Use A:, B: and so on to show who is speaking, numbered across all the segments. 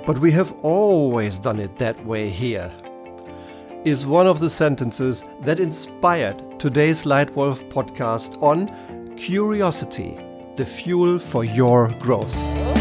A: But we have always done it that way here, is one of the sentences that inspired today's Lightwolf podcast on curiosity, the fuel for your growth.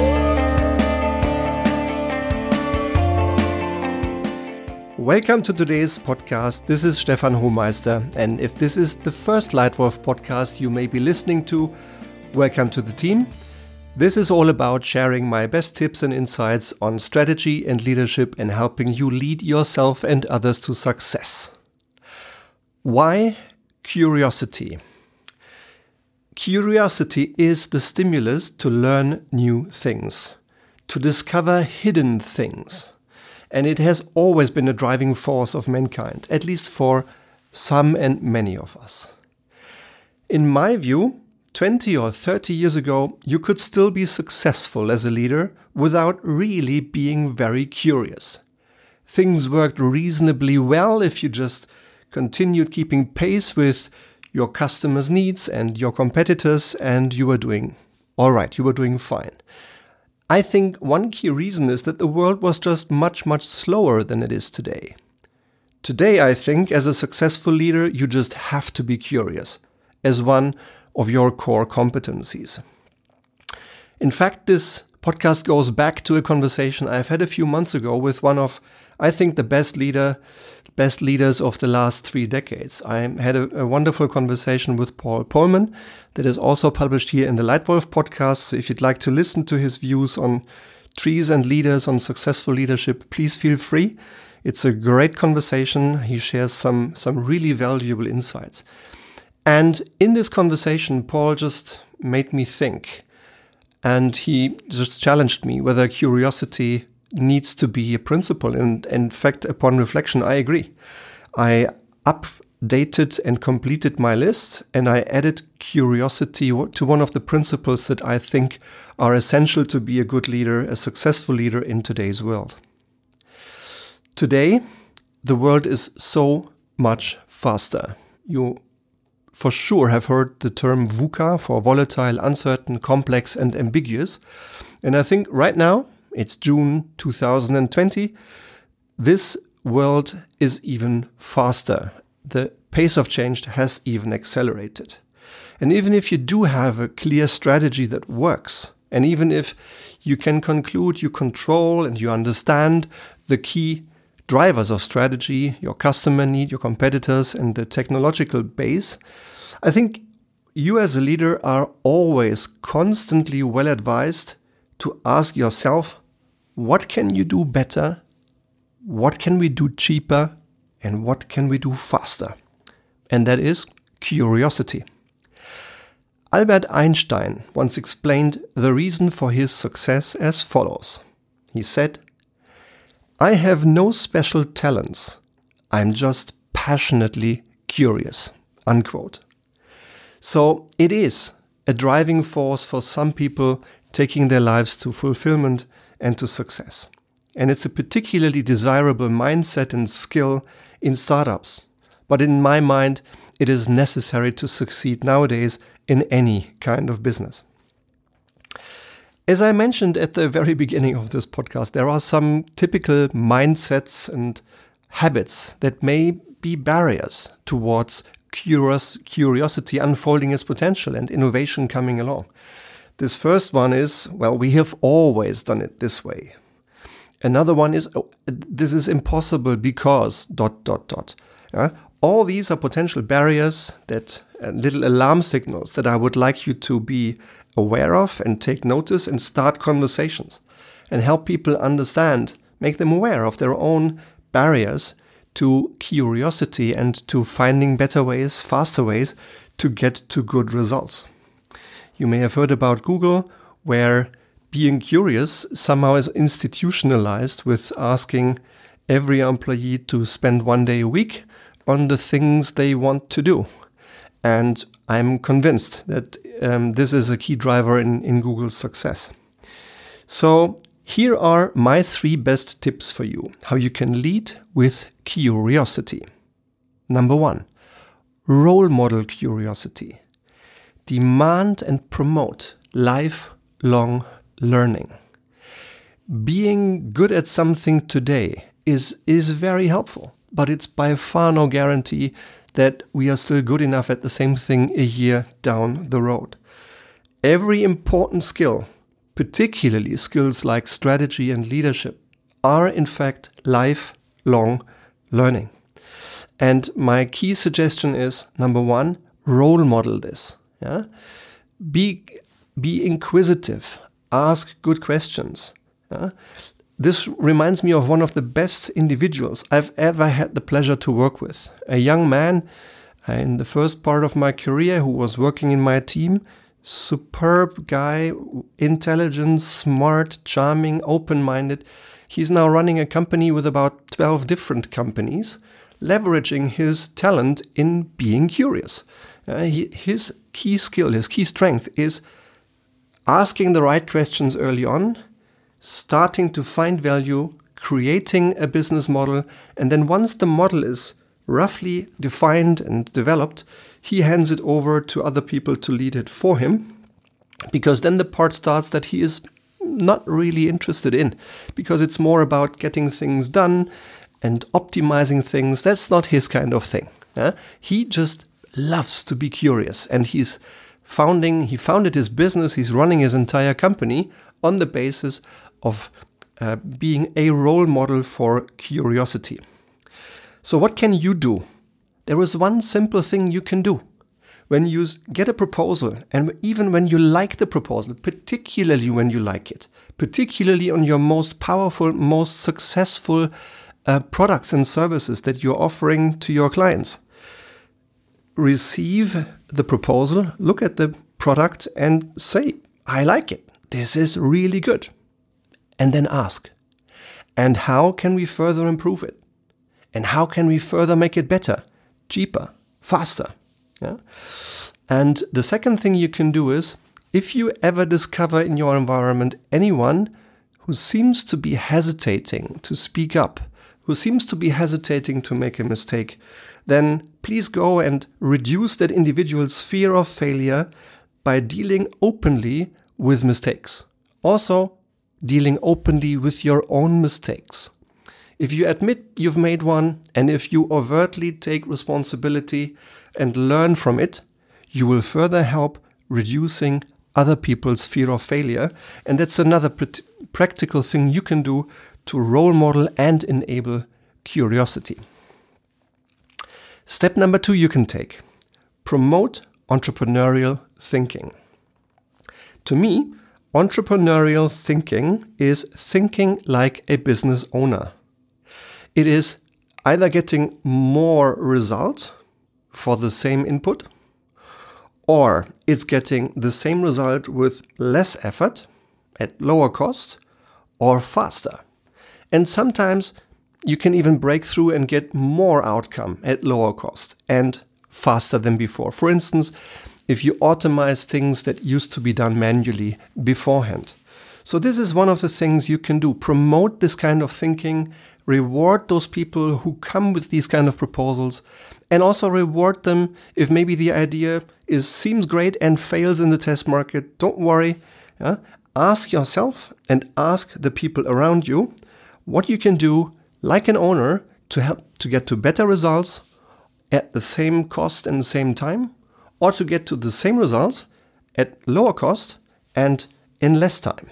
A: Welcome to today's podcast. This is Stefan Hohmeister, and if this is the first Lightwolf podcast you may be listening to, welcome to the team. This is all about sharing my best tips and insights on strategy and leadership and helping you lead yourself and others to success. Why curiosity? Curiosity is the stimulus to learn new things, to discover hidden things. And it has always been a driving force of mankind, at least for some and many of us. In my view, 20 or 30 years ago, you could still be successful as a leader without really being very curious. Things worked reasonably well if you just continued keeping pace with your customers' needs and your competitors, and you were doing all right, you were doing fine. I think one key reason is that the world was just much slower than it is today. Today, I think, as a successful leader, you just have to be curious, as one of your core competencies. In fact, this podcast goes back to a conversation I've had a few months ago with one of, I think, the best leaders of the last 3 decades. I had a wonderful conversation with Paul Polman that is also published here in the Lightwolf podcast. So if you'd like to listen to his views on trees and leaders, on successful leadership, please feel free. It's a great conversation. He shares some really valuable insights. And in this conversation, Paul just made me think, and he just challenged me whether curiosity needs to be a principle. And in fact, upon reflection, I agree. I updated and completed my list, and I added curiosity to one of the principles that I think are essential to be a good leader, a successful leader in today's world. Today, the world is so much faster. You for sure have heard the term VUCA for volatile, uncertain, complex, and ambiguous. And I think right now, it's June 2020, this world is even faster. The pace of change has even accelerated. And even if you do have a clear strategy that works, and even if you can conclude you control and you understand the key drivers of strategy, your customer need, your competitors, and the technological base, I think you as a leader are always constantly well advised to ask yourself, what can you do better? What can we do cheaper? And what can we do faster? And that is curiosity. Albert Einstein once explained the reason for his success as follows. He said, "I have no special talents. I'm just passionately curious." Unquote. So it is a driving force for some people taking their lives to fulfillment and to success. And it's a particularly desirable mindset and skill in startups. But in my mind, it is necessary to succeed nowadays in any kind of business. As I mentioned at the very beginning of this podcast, there are some typical mindsets and habits that may be barriers towards curiosity unfolding its potential and innovation coming along. This first one is, well, we have always done it this way. Another one is, this is impossible because ... All these are potential barriers, that little alarm signals that I would like you to be aware of and take notice and start conversations and help people understand, make them aware of their own barriers to curiosity and to finding better ways, faster ways to get to good results. You may have heard about Google, where being curious somehow is institutionalized with asking every employee to spend 1 day a week on the things they want to do. And I'm convinced that this is a key driver in Google's success. So here are my 3 best tips for you, how you can lead with curiosity. Number 1, role model curiosity. Demand and promote lifelong learning. being good at something today is very helpful, but it's by far no guarantee that we are still good enough at the same thing a year down the road. Every important skill, particularly skills like strategy and leadership, are in fact lifelong learning. And my key suggestion is, number one, role model this. Yeah? Be inquisitive. Ask good questions. Yeah? This reminds me of one of the best individuals I've ever had the pleasure to work with. A young man in the first part of my career who was working in my team. Superb guy, intelligent, smart, charming, open-minded. He's now running a company with about 12 different companies, leveraging his talent in being curious. His key skill, his key strength is asking the right questions early on, starting to find value, creating a business model, and then once the model is roughly defined and developed, he hands it over to other people to lead it for him, because then the part starts that he is not really interested in, because it's more about getting things done and optimizing things. That's not his kind of thing. He just loves to be curious, and he founded his business, he's running his entire company on the basis of being a role model for curiosity. So what can you do? There is one simple thing you can do. When you get a proposal, and even when you like the proposal, particularly when you like it, particularly on your most powerful, most successful products and services that you're offering to your clients, receive the proposal, look at the product and say, I like it. This is really good. And then ask, and how can we further improve it? And how can we further make it better, cheaper, faster? Yeah? And the second thing you can do is, if you ever discover in your environment anyone who seems to be hesitating to speak up, who seems to be hesitating to make a mistake, then please go and reduce that individual's fear of failure by dealing openly with mistakes. Also, dealing openly with your own mistakes. If you admit you've made one, and if you overtly take responsibility and learn from it, you will further help reducing other people's fear of failure. And that's another practical thing you can do to role model and enable curiosity. Step number 2 you can take. Promote entrepreneurial thinking. To me, entrepreneurial thinking is thinking like a business owner. It is either getting more result for the same input, or it's getting the same result with less effort, at lower cost, or faster. And sometimes you can even break through and get more outcome at lower cost and faster than before. For instance, if you automate things that used to be done manually beforehand. So this is one of the things you can do. Promote this kind of thinking, reward those people who come with these kind of proposals, and also reward them if maybe the idea seems great and fails in the test market. Don't worry. Ask yourself and ask the people around you what you can do like an owner to help to get to better results at the same cost and the same time, or to get to the same results at lower cost and in less time.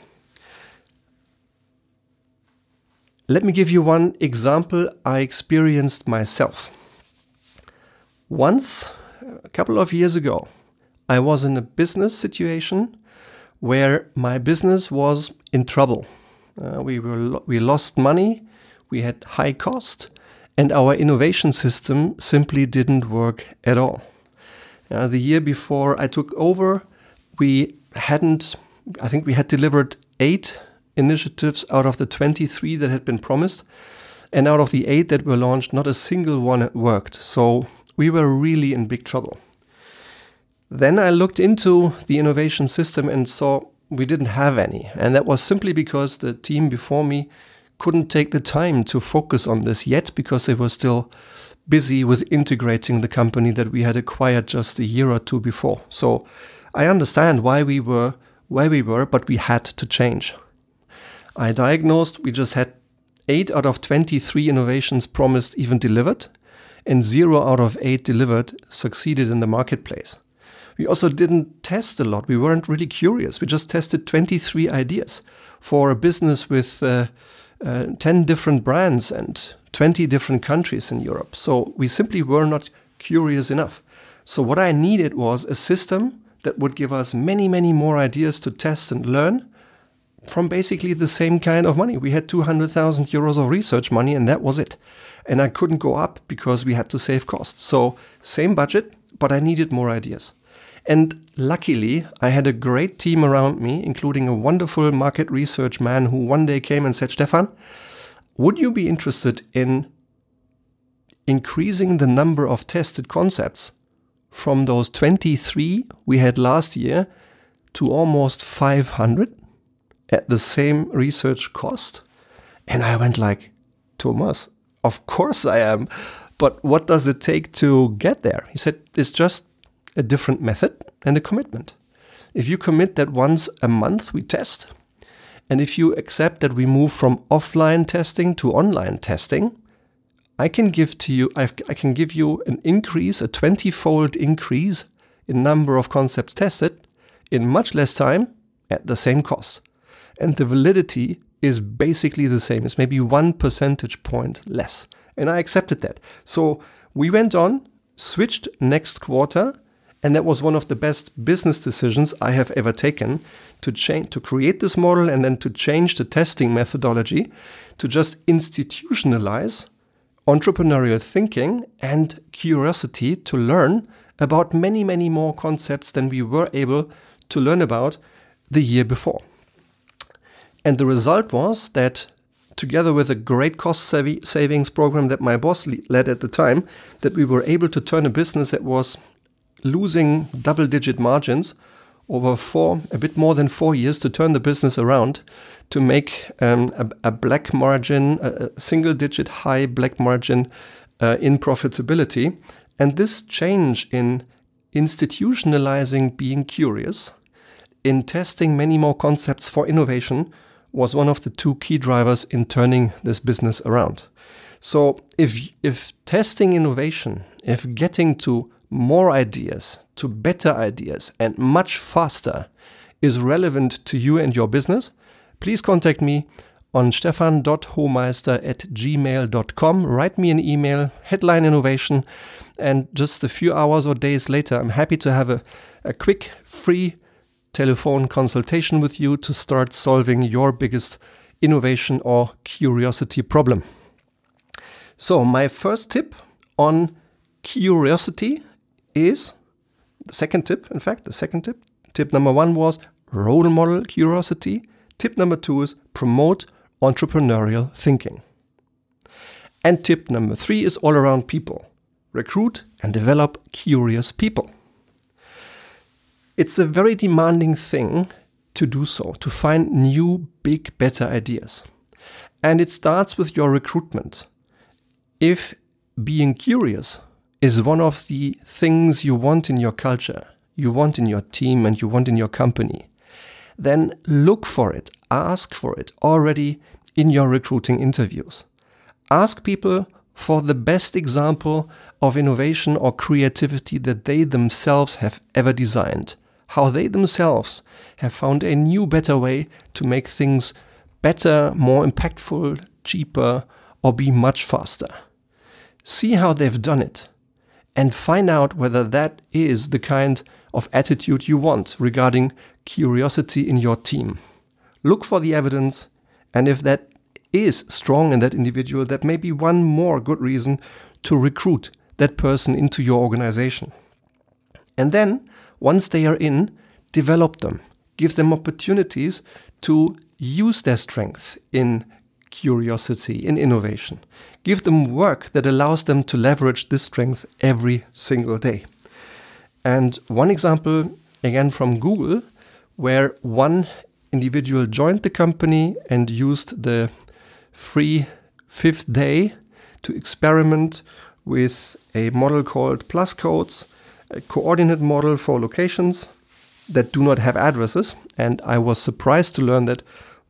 A: Let me give you one example I experienced myself. Once, a couple of years ago, I was in a business situation where my business was in trouble. We lost money, we had high cost, and our innovation system simply didn't work at all. The year before I took over, I think we had delivered 8 initiatives out of the 23 that had been promised. And out of the 8 that were launched, not a single one worked. So we were really in big trouble. Then I looked into the innovation system and saw we didn't have any. And that was simply because the team before me couldn't take the time to focus on this yet, because they were still busy with integrating the company that we had acquired just a year or two before. So I understand why we were, but we had to change. I diagnosed we just had 8 out of 23 innovations promised even delivered, and 0 out of 8 delivered succeeded in the marketplace. We also didn't test a lot. We weren't really curious. We just tested 23 ideas for a business with 10 different brands and 20 different countries in Europe. So we simply were not curious enough. So what I needed was a system that would give us many, many more ideas to test and learn from basically the same kind of money. We had 200,000 euros of research money, and that was it. And I couldn't go up because we had to save costs. So same budget, but I needed more ideas. And luckily, I had a great team around me, including a wonderful market research man who one day came and said, Stefan, would you be interested in increasing the number of tested concepts from those 23 we had last year to almost 500 at the same research cost? And I went like, Thomas, of course I am. But what does it take to get there? He said, it's just a different method and a commitment. If you commit that once a month we test, and if you accept that we move from offline testing to online testing, I can give you an increase, a 20-fold increase in number of concepts tested in much less time at the same cost. And the validity is basically the same. It's maybe 1 percentage point less. And I accepted that. So we went on, switched next quarter, and that was one of the best business decisions I have ever taken to create this model and then to change the testing methodology to just institutionalize entrepreneurial thinking and curiosity to learn about many, many more concepts than we were able to learn about the year before. And the result was that together with a great cost savings program that my boss led at the time, that we were able to turn a business that was losing double-digit margins over a bit more than 4 years, to turn the business around, to make a black margin, a single-digit high black margin in profitability. And this change in institutionalizing being curious, in testing many more concepts for innovation, was one of the 2 key drivers in turning this business around. So if testing innovation, if getting to more ideas, to better ideas, and much faster is relevant to you and your business, please contact me on stefan.hohmeister@gmail.com. Write me an email, headline innovation, and just a few hours or days later, I'm happy to have a quick, free telephone consultation with you to start solving your biggest innovation or curiosity problem. So my first tip on curiosity is the second tip. Tip number 1 was role model curiosity. Tip number 2 is promote entrepreneurial thinking. And tip number 3 is all around people. Recruit and develop curious people. It's a very demanding thing to do so, to find new, big, better ideas. And it starts with your recruitment. If being curious is one of the things you want in your culture, you want in your team, and you want in your company, then look for it, ask for it already in your recruiting interviews. Ask people for the best example of innovation or creativity that they themselves have ever designed, how they themselves have found a new, better way to make things better, more impactful, cheaper, or be much faster. See how they've done it, and find out whether that is the kind of attitude you want regarding curiosity in your team. Look for the evidence, and if that is strong in that individual, that may be one more good reason to recruit that person into your organization. And then, once they are in, develop them. Give them opportunities to use their strength in curiosity, in innovation. Give them work that allows them to leverage this strength every single day. And one example, again from Google, where one individual joined the company and used the free 5th day to experiment with a model called PlusCodes, a coordinate model for locations that do not have addresses. And I was surprised to learn that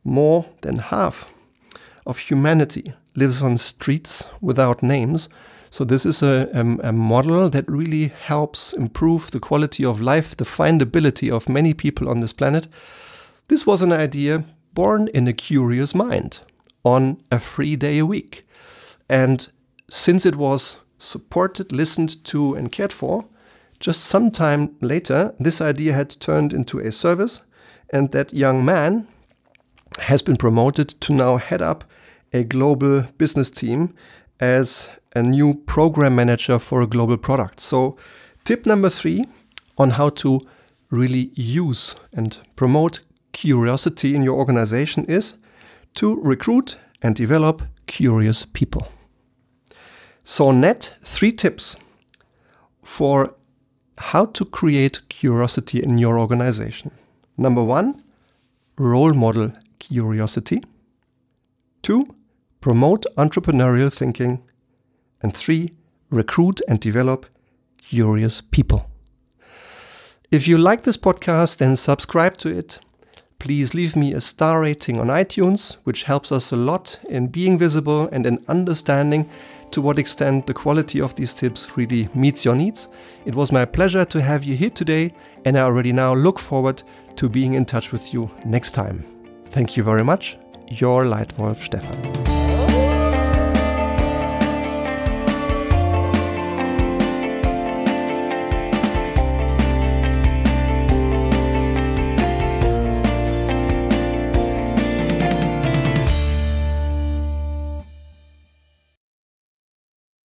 A: more than half of humanity lives on streets without names. So this is a model that really helps improve the quality of life, the findability of many people on this planet. This was an idea born in a curious mind on a free day a week. And since it was supported, listened to, and cared for, just some time later, this idea had turned into a service, and that young man has been promoted to now head up a global business team as a new program manager for a global product. So tip number 3 on how to really use and promote curiosity in your organization is to recruit and develop curious people. So net 3 tips for how to create curiosity in your organization. Number 1, role model curiosity. 2, promote entrepreneurial thinking. And 3, recruit and develop curious people. If you like this podcast, then subscribe to it. Please leave me a star rating on iTunes, which helps us a lot in being visible and in understanding to what extent the quality of these tips really meets your needs. It was my pleasure to have you here today, and I already now look forward to being in touch with you next time. Thank you very much. Your Leitwolf Stefan.